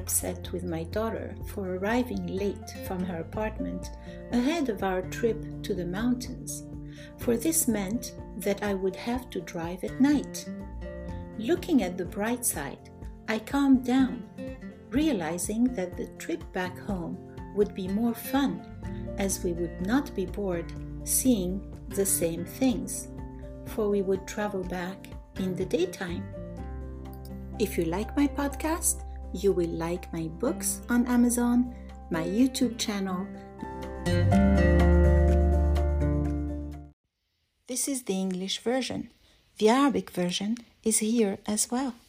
upset with my daughter for arriving late from her apartment ahead of our trip to the mountains, for this meant that I would have to drive at night. Looking at the bright side, I calmed down, realizing that the trip back home would be more fun, as we would not be bored seeing the same things, for we would travel back in the daytime. If you like my podcast, you will like my books on Amazon, my YouTube channel. This is the English version. The Arabic version is here as well.